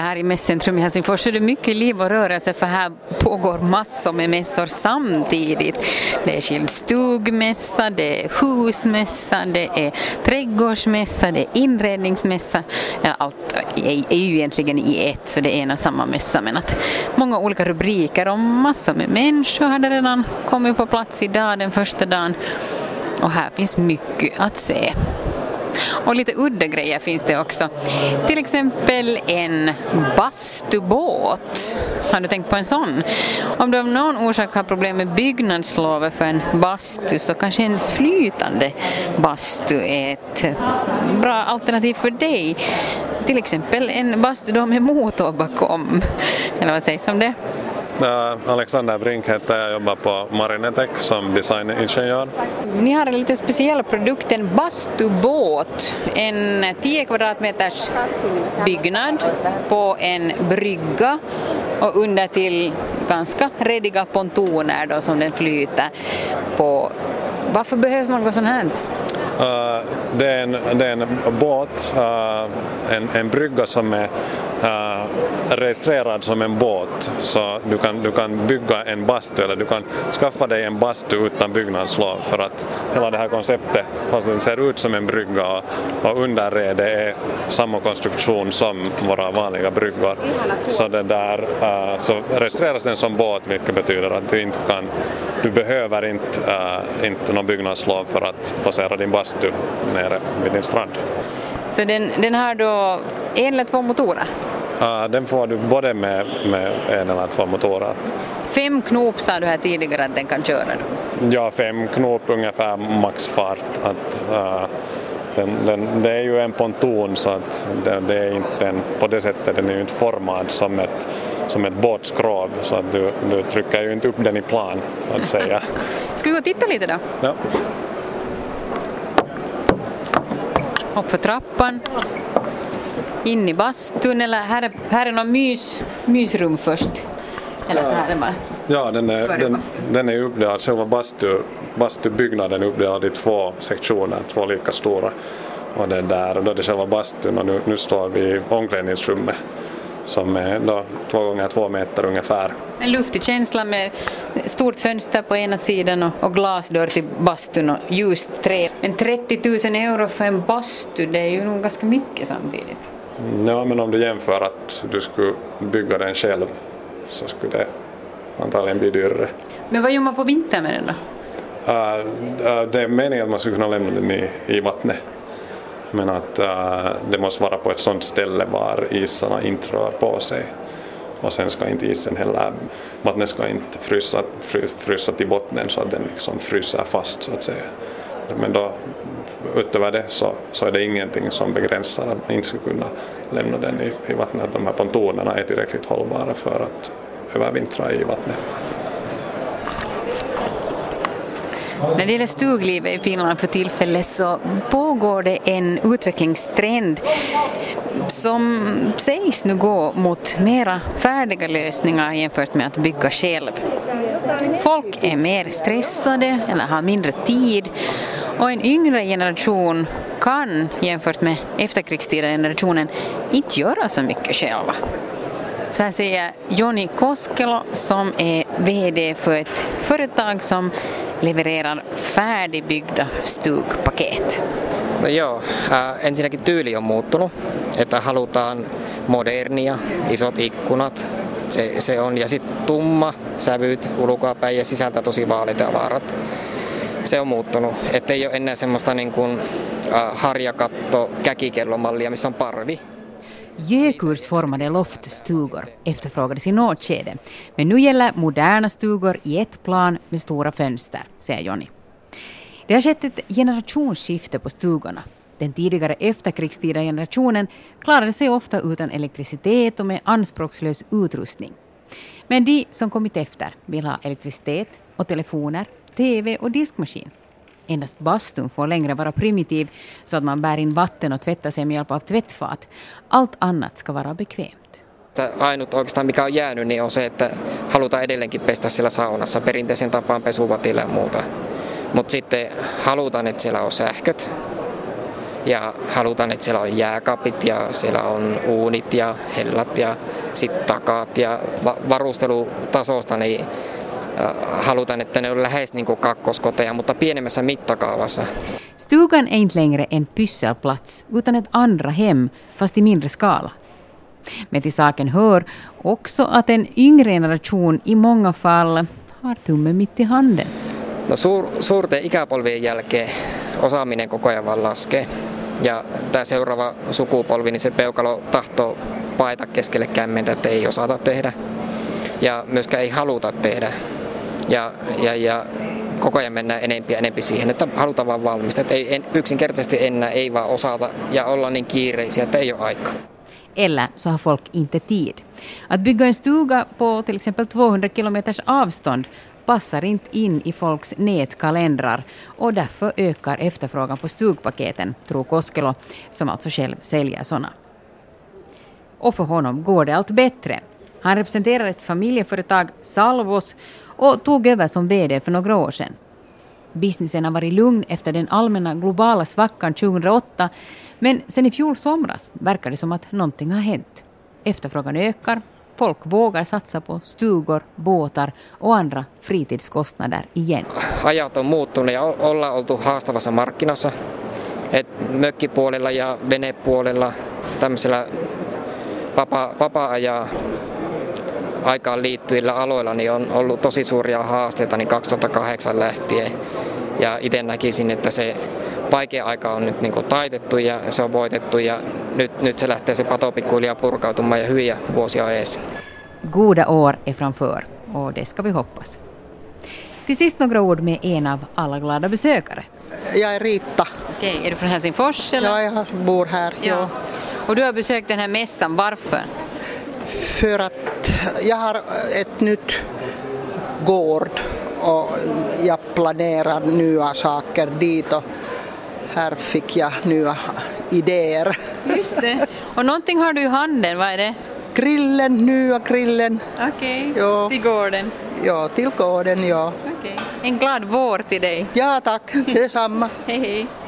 här i Mässcentrum i Helsingfors så är det mycket liv och rörelse, för här pågår massor med mässor samtidigt. Det är skildstugmässa, det är husmässa, det är trädgårdsmässa, det är inredningsmässa. Ja, allt är ju egentligen i ett, så det är en och samma mässa, men att många olika rubriker och massor med människor hade redan kommit på plats idag, den första dagen. Och här finns mycket att se. Och lite udda grejer finns det också. Till exempel en bastubåt. Har du tänkt på en sån? Om du av någon orsak har problem med byggnadslovet för en bastu, så kanske en flytande bastu är ett bra alternativ för dig. Till exempel en bastu då med motor bakom. Eller vad sägs om det? Alexander Brink heter jag, jobbar på Marinetech som designingenjör. Ni har en lite speciell produkt, en bastubåt, en 10 kvadratmeters byggnad på en brygga och under till ganska rediga pontoner då som den flyter på. Varför behövs något sånt här? Det är en båt, en brygga som är registrerad som en båt, så du kan bygga en bastu eller du kan skaffa dig en bastu utan byggnadslov, för att hela det här konceptet, fast den ser ut som en brygga och underredet är samma konstruktion som våra vanliga bryggor, så det där så registreras den som båt, vilket betyder att du behöver inte någon byggnadslov för att placera din bastu nere vid din strand. Så den har då en eller två motorer? Den får du både med en eller två motorer. 5 knop sa du här tidigare att den kan köra då? Ja, 5 knop ungefär maxfart. Det är ju en ponton, så att det är inte på det sättet, den är ju inte formad som ett båtskrov, så att du trycker ju inte upp den i plan, att säga. Ska vi gå och titta lite då? Ja. Upp för trappan, in i bastun, eller här är någon mysrum först. Eller så här är det bara. Ja, den är uppdelad, själva bastubyggnaden är uppdelad i 2 sektioner, 2 lika stora. Och då är det själva bastun, och nu står vi i omklädningsrummet som är då 2 gånger 2 meter ungefär. En luftig känsla med stort fönster på ena sidan och glasdörr till bastun och ljust trä. Men 30 000 euro för en bastu, det är ju nog ganska mycket samtidigt. Ja, men om du jämför att du skulle bygga den själv, så skulle det antagligen bli dyrare. Men vad gör man på vintern med den då? Det är meningen att man skulle kunna lämna den i vattnet. Men att det måste vara på ett sådant ställe var isarna inte rör på sig. Och sen ska inte isen heller, vattnet ska inte frysa till botten så att den liksom fryser fast, så att säga. Men då utöver det så är det ingenting som begränsar att man inte ska kunna lämna den i vattnet. De här pontonerna är tillräckligt hållbara för att övervintra i vattnet. När det gäller stuglivet i Finland för tillfället så pågår det en utvecklingstrend som sägs nu gå mot mera färdiga lösningar jämfört med att bygga själv. Folk är mer stressade eller har mindre tid, och en yngre generation kan jämfört med efterkrigstida generationen inte göra så mycket själva. Så här säger Joni Koskelo som är vd för ett företag som levererar färdigbyggda stugpaket. No joo, ensinnäkin tyyli on muuttunut, että halutaan modernia, isot ikkunat, se on, ja sitten tumma sävyt ulkoapäin ja sisältä tosi vaaleita ja vaarat. Se on muuttunut, että ei ole enää semmoista niin kuin harjakatto käkikellomallia, missä on parvi. Gökursformade loftstugor efterfrågades i något skede, men nu gäller moderna stugor i ett plan med stora fönster, säger Joni. Det har skett ett generationsskifte på stugorna. Den tidigare efterkrigstida generationen klarade sig ofta utan elektricitet och med anspråkslös utrustning. Men de som kommit efter vill ha elektricitet och telefoner, tv och diskmaskin. Endast bastun får längre vara primitiv så att man bär in vatten och tvättar sig med hjälp av tvättfat. Allt annat ska vara bekvämt. Ainut oikeastaan mikä on jäänyt niin on se, että halutaan edelleenkin pestä siellä saunassa perinteisen tapaan pesuvatilla ja muuta. Mutta sitten halutaan, että siellä on sähköt Ja halutaan, että siellä on jääkaapit ja siellä on uunit ja hellat ja sitten takaat. Ja varustelutasosta niin halutaan, että ne on lähes niin kuin kakkoskoteja, mutta pienemmässä mittakaavassa. Stugan är inte längre en pysselplats utan ett andra hem, fast i mindre skala. Men till saken hör också att en yngre generation i många fall har tummen mitt i handen. No suurten ikäpolvien jälkeen osaaminen koko ajan vaan laskee. Ja tämä seuraava sukupolvi, niin se peukalo tahtoo paeta keskelle kämmentä, että ei osata tehdä. Ja myöskään ei haluta tehdä. Ja koko ajan mennään enempi siihen, että halutaan vaan valmistaa. Että yksinkertaisesti enää ei vaan osata ja olla niin kiireisiä, että ei ole aikaa. Eller så har folk inte tid. Att bygga en stuga på till exempel 200 kilometers avstånd passar inte in i folks nätkalendrar och därför ökar efterfrågan på stugpaketen, tror Koskelo, som alltså själv säljer såna. Och för honom går det allt bättre. Han representerar ett familjeföretag, Salvos, och tog över som vd för några år sedan. Businessen har varit lugn efter den allmänna globala svackan 2008, men sen i fjol somras verkar det som att någonting har hänt. Efterfrågan ökar, folk vågar satsa på stugor, båtar och andra fritidskostnader igen. Ajat on muuttunut ja ollaan oltu haastavassa markkinassa. Et mökkipuolella ja venepuolella tämmöisellä vapaa-ajaa aikaan liittyvillä aloilla niin on ollut tosi suuria haasteita niin 2008 lähtien. Ja itse näkisin, että se vaikea aika on nyt niin kuin taitettu ja se on voitettu ja nyt se lähtee se pato pikkuhiljaa purkautumaan ja hyviä vuosia ees. Goda år är framför och det ska vi hoppas. Till sist några ord med en av alla glada besökare. Jag är Rita. Okej, är du från Helsingfors eller? Ja, jag bor här. Ja. Och du har besökt den här mässan, varför? För att jag har ett nytt gård och jag planerar nya saker dit och här fick jag nya idéer. Just det. Och någonting har du i handen, vad är det? Nya grillen. Okej, Ja. till gården. Ja, till gården, ja. Okej. En glad vår till dig. Ja, tack. Det är samma. Hej hej.